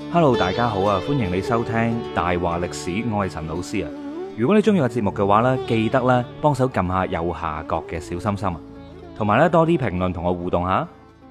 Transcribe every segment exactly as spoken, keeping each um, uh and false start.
Hello， 大家好啊！歡迎你收聽大話歷史，我係陳老師啊。如果你中意個節目嘅話呢，記得咧幫手撳下右下角嘅小心心啊，同埋咧多啲評論同我互動下。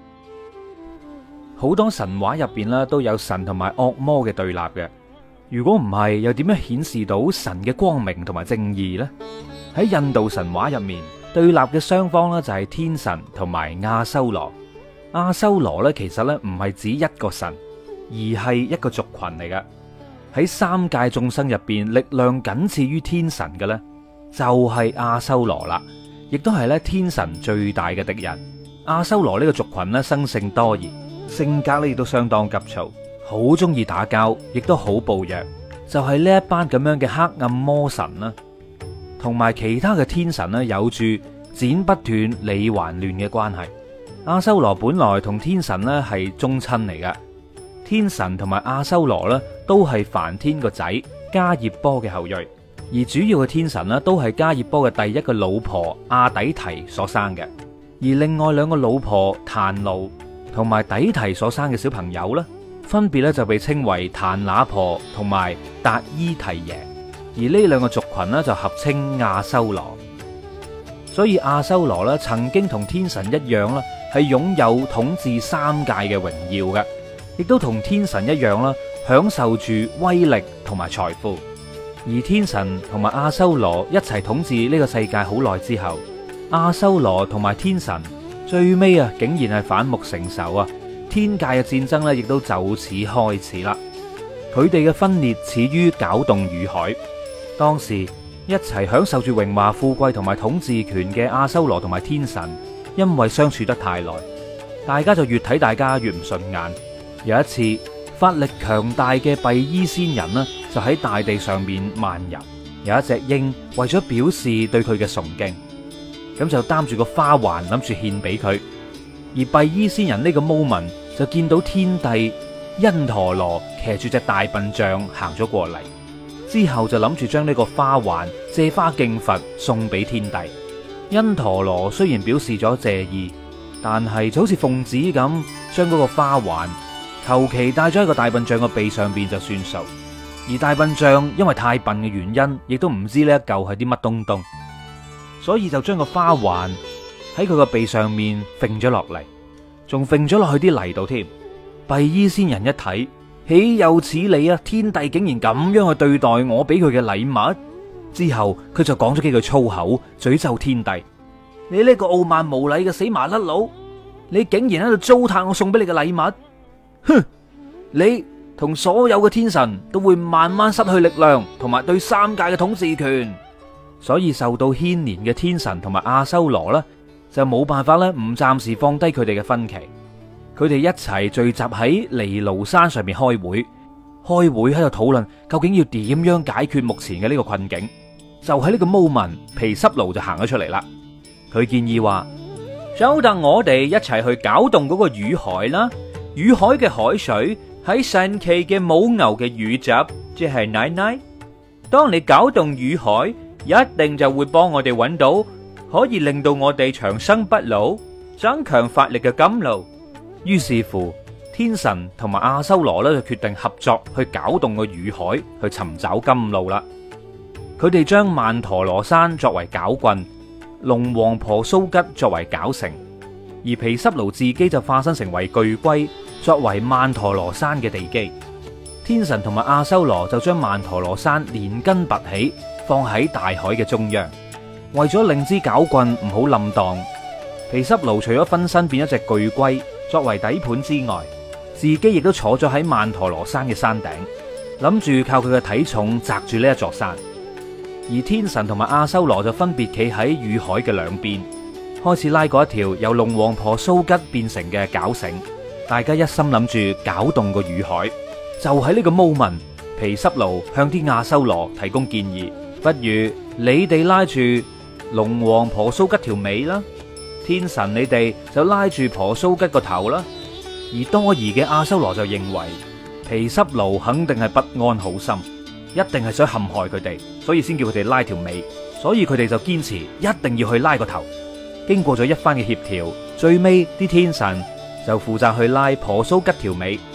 好多神話入邊咧都有神同埋惡魔嘅對立嘅，如果唔係，又點樣顯示到神嘅光明同埋正義呢？喺印度神話入面，對立嘅雙方呢就係天神同埋阿修羅。阿修羅呢其實呢唔係指一個神，而係一個族群嚟嘅。喺三界眾生入邊，力量僅次於天神嘅呢，就係阿修羅啦，亦都係咧天神最大嘅敵人。阿修羅呢個族群呢，生性多疑，性格呢亦都相當急躁，好中意打交，亦都好暴虐。就係呢一班咁樣嘅黑暗魔神啦，同埋其他嘅天神呢，有住剪不斷理還亂嘅關係。阿修羅本來同天神呢係宗親嚟嘅。天神同埋阿修羅咧，都係梵天個仔迦葉波嘅後裔，而主要嘅天神咧，都係迦葉波嘅第一個老婆阿底提所生嘅，而另外兩個老婆檀奴同埋底提所生嘅小朋友咧，分別咧就被稱為檀那婆同埋達伊提耶，而呢兩個族群咧就合稱阿修羅。所以阿修羅咧曾經同天神一樣啦，係擁有統治三界嘅榮耀嘅。亦都同天神一樣啦，享受住威力同埋財富。而天神同埋阿修羅一齊統治呢個世界好耐之後，阿修羅同埋天神最尾啊，竟然係反目成仇啊！天界嘅戰爭咧，亦都就此開始啦。佢哋嘅分裂始於攪動乳海。當時一齊享受住榮華富貴同埋統治權嘅阿修羅同埋天神，因為相處得太耐，大家就越睇大家越唔順眼。有一次，法力強大嘅幣衣仙人呢，就喺大地上面漫遊。有一隻鷹為咗表示對佢嘅崇敬，咁就擔住個花環諗住獻俾佢。而幣衣仙人呢個 moment 就見到天帝因陀羅騎住隻大笨象行咗過嚟，之後就諗住將呢個花環借花敬佛送俾天帝。因陀羅雖然表示咗謝意，但係就好似奉旨咁將嗰個花環求其戴咗喺個大笨象個鼻上邊就算數，而大笨象因為太笨嘅原因，亦都唔知呢一嚿係啲乜東東，所以就將個花環喺佢個鼻上面揈咗落嚟，仲揈咗落去啲泥度添。幣衣仙人一睇，豈有此理啊！天帝竟然咁樣去對待我俾佢嘅禮物。之後佢就講咗幾句粗口，詛咒天帝：你呢個傲慢無禮嘅死麻甩佬，你竟然喺度糟蹋我送俾你嘅禮物！哼！你同所有嘅天神都會慢慢失去力量，同埋對三界嘅統治權。所以受到牽連嘅天神同埋阿修羅呢，就冇辦法咧，唔暫時放低佢哋嘅分歧。佢哋一齊聚集喺尼盧山上面開會，開會喺度討論究竟要點樣解決目前嘅呢個困境。就喺呢個 moment，毗濕奴就行咗出嚟啦。佢建議話：就等我哋一齊去攪動嗰個乳海啦。乳海嘅海水喺神奇嘅母牛嘅乳汁，即係奶奶。當你攪動乳海，一定就會幫我哋揾到可以令到我哋長生不老、增強法力嘅甘露。於是乎，天神同埋阿修羅咧就決定合作去攪動個乳海，去尋找甘露啦。佢哋將曼陀羅山作為攪棍，龍王婆蘇吉作為攪繩，而毗濕奴自己就化身成為巨龜，作為曼陀羅山嘅地基。天神同埋阿修羅就將曼陀羅山連根拔起，放喺大海嘅中央。為咗令支攪棍唔好冧蕩，毗濕奴除咗分身變一隻巨龜作為底盤之外，自己亦都坐咗喺曼陀羅山嘅山頂，諗住靠佢嘅體重擲住呢一座山。而天神同埋阿修羅就分別企喺乳海嘅兩邊，開始拉過一條由龍王婆蘇吉變成嘅絞繩。大家一心諗住攪動個乳海。就喺呢個 moment， 毗濕奴向啲阿修羅提供建議，不如你哋拉住龍王婆蘇吉條尾啦，天神你哋就拉住婆蘇吉個頭啦。而多疑嘅阿修羅就認為毗濕奴肯定係不安好心，一定係想陷害佢哋，所以先叫佢哋拉條尾。所以佢哋就堅持一定要去拉個頭。經過咗一番嘅協調，最尾啲天神就負責去拉婆蘇吉條尾，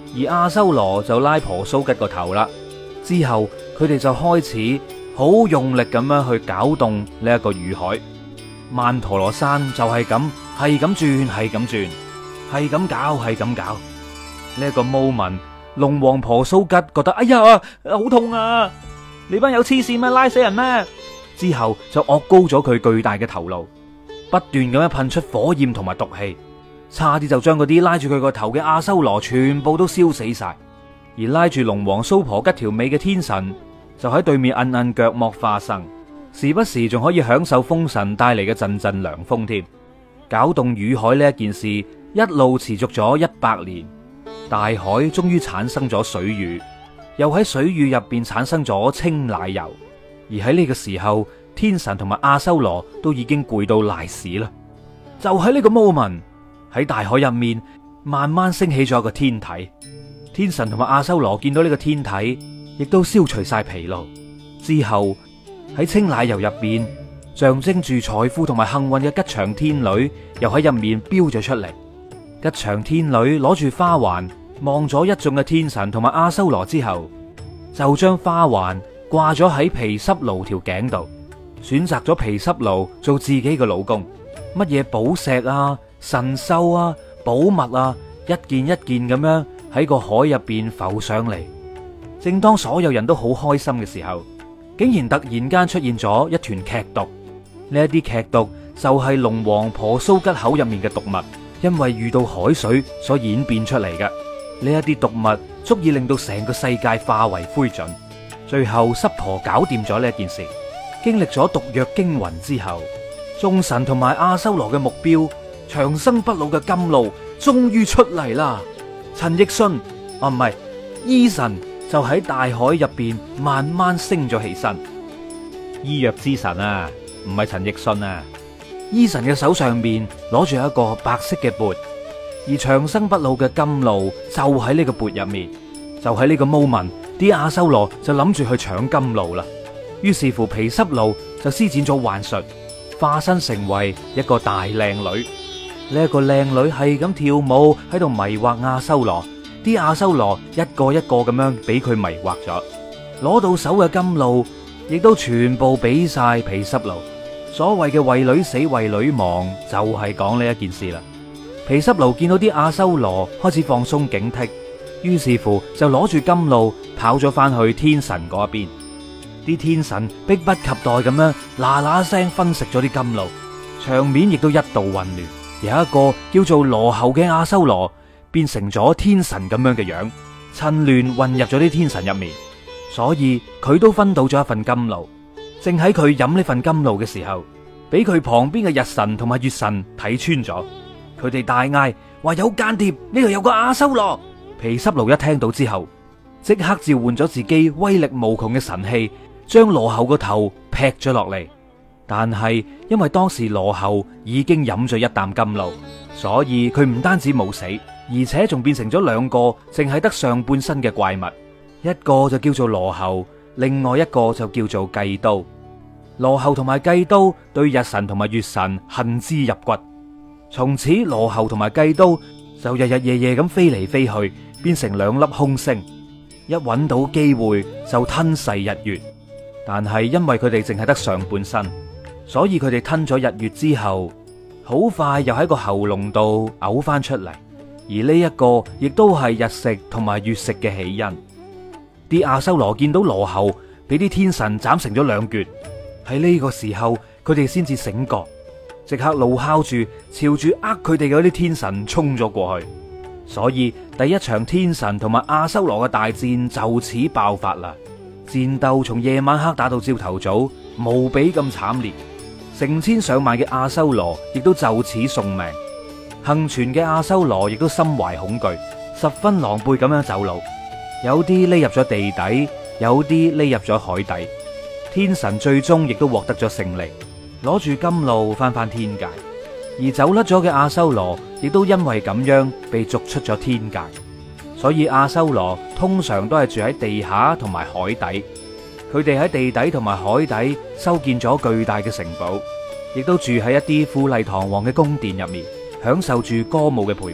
而阿修羅就拉婆蘇吉個頭啦。之後佢哋就開始好用力咁樣去攪動呢一個乳海，曼陀羅山就係咁，係咁轉，係咁轉，係咁搞，係咁搞。呢一個 moment， 龍王婆蘇吉覺得哎呀好痛啊！你班有黐線咩？拉死人咩？之後就惡高咗佢巨大嘅頭顱，不斷咁樣噴出火焰同埋毒氣，差啲就將嗰啲拉住佢個頭嘅阿修羅全部都燒死晒。而拉住龍王蘇婆吉條尾嘅天神就喺對面摁摁腳莫花生，時不時仲可以享受風神帶嚟嘅陣陣涼風添。攪動乳海呢一件事一路持續咗一百年，大海終於產生咗水乳，又喺水乳入邊產生咗清奶油。而喺呢個時候，天神同埋阿修羅都已經攰到賴屎啦。就喺呢個 moment， 喺大海入面慢慢升起咗一個天體。天神同埋阿修羅見到呢個天體，亦都消除晒疲勞。之後喺清奶油入邊，象徵住財富同埋幸運嘅吉祥天女又喺入面飆咗出嚟。吉祥天女攞住花環，望咗一眾嘅天神同埋阿修羅之後，就將花環掛咗喺毗濕奴條頸度，選擇咗毗濕奴做自己嘅老公。乜嘢寶石啊、神獸啊、寶物啊，一件一件咁樣喺個海入邊浮上嚟。正當所有人都好開心嘅時候，竟然突然間出現咗一團劇毒。呢一啲劇毒就係龍王婆蘇吉口入面嘅毒物，因為遇到海水所演變出嚟嘅。呢一啲毒物足以令到成個世界化為灰燼。最後濕婆搞掂咗呢一件事，經歷咗毒藥驚魂之後，眾神同埋阿修羅嘅目標長生不老嘅甘露終於出嚟啦。陳奕迅啊，唔係醫神就喺大海入邊慢慢升咗起身。醫藥之神啊，唔係陳奕迅啊。醫神嘅手上面攞住一個白色嘅缽，而長生不老嘅甘露就喺呢個缽入面。就喺呢個 moment， 啲阿修羅就諗住去搶甘露啦。於是乎毗濕奴就施展咗幻術，化身成為一個大靚女。呢一個靚女係咁跳舞喺度迷惑阿修羅，啲阿修羅一個一個咁樣俾佢迷惑咗，攞到手嘅甘露亦都全部俾晒毗濕奴。所謂嘅為女死為女亡就係講呢一件事啦。毗濕奴見到啲阿修羅開始放鬆警惕，於是乎就攞住甘露跑咗翻去天神嗰邊。啲天神迫不及待咁樣嗱嗱聲分食咗啲甘露，場面亦都一度混亂。有一個叫做羅睺嘅阿修羅變成咗天神咁樣嘅樣，趁亂混入咗啲天神入面，所以佢都分到咗一份甘露。正喺佢飲呢份甘露嘅時候，俾佢旁邊嘅日神同埋月神睇穿咗，佢哋大嗌話有間諜，呢度有個阿修羅。毗濕奴一聽到之後，即刻召喚咗自己威力無窮嘅神器，將羅睺個頭劈咗落嚟。但係因為當時羅睺已經飲咗一啖甘露，所以佢唔單止冇死，而且仲變成咗兩個淨係得上半身嘅怪物，一個就叫做羅睺，另外一個就叫做計都。羅睺同埋計都對日神同埋月神恨之入骨，從此羅睺同埋計都就日日夜夜咁飛嚟飛去，變成兩粒空星，一揾到機會就吞噬日月。但係因為佢哋淨係得上半身，所以佢哋吞咗日月之後，好快又喺個喉嚨度嘔翻出嚟。而呢一個亦都係日食同埋月食嘅起因。啲阿修羅見到羅睺俾啲天神斬成咗兩橛，喺呢個時候佢哋先至醒覺，即刻怒哮住朝住呃佢哋嘅嗰啲天神衝咗過去。所以第一場天神同埋阿修羅嘅大戰就此爆發啦。戰鬥從夜晚黑打到朝頭早，無比咁慘烈，成千上萬嘅阿修羅亦都就此送命。幸存嘅阿修羅亦都心懷恐懼，十分狼狽咁樣走路，有啲匿入咗地底，有啲匿入咗海底。天神最終亦都獲得咗勝利，攞住甘露翻返天界。而走甩咗嘅阿修羅亦都因為咁樣被逐出咗天界。所以阿修羅通常都係住喺地下同埋海底，佢哋喺地底同埋海底修建咗巨大嘅城堡，亦都住喺一啲富麗堂皇嘅宮殿入面，享受住歌舞嘅陪伴。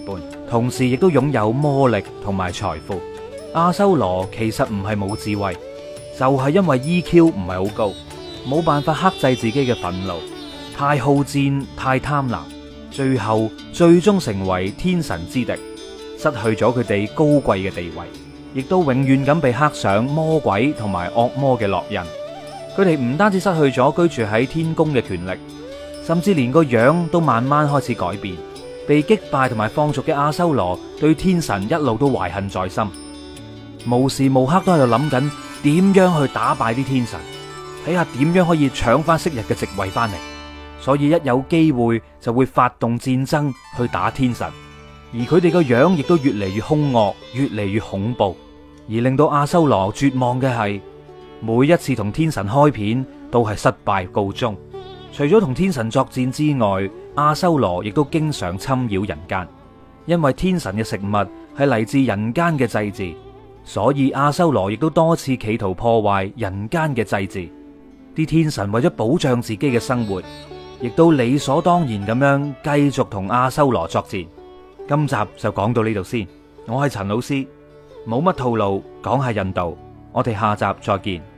同時亦都擁有魔力同埋財富。阿修羅其實唔係冇智慧，就係因為 E Q 唔係好高，冇辦法克制自己嘅憤怒，太好戰，太貪婪，最後最終成為天神之敵，失去咗佢哋高貴嘅地位，亦都永遠咁被刻上魔鬼同埋惡魔嘅烙印。佢哋唔單止失去咗居住喺天宮嘅權力，甚至連個樣都慢慢開始改變。被擊敗同埋放逐嘅阿修羅對天神一路都懷恨在心，無時無刻都喺度諗緊點樣去打敗啲天神，睇下點樣可以搶翻昔日嘅席位翻嚟。所以一有機會就會發動戰爭去打天神，而佢哋個樣亦都越嚟越兇惡，越嚟越恐怖。而令到阿修羅絕望嘅係，每一次同天神開片都係失敗告終。除咗同天神作戰之外，阿修羅亦都經常侵擾人間，因為天神嘅食物係嚟自人間嘅祭祀，所以阿修羅亦都多次企圖破壞人間嘅祭祀。啲天神為咗保障自己嘅生活，亦都理所當然咁樣繼續同阿修羅作戰。今集就講到呢度先，我係陳老師，冇乜套路，講下印度，我哋下集再見。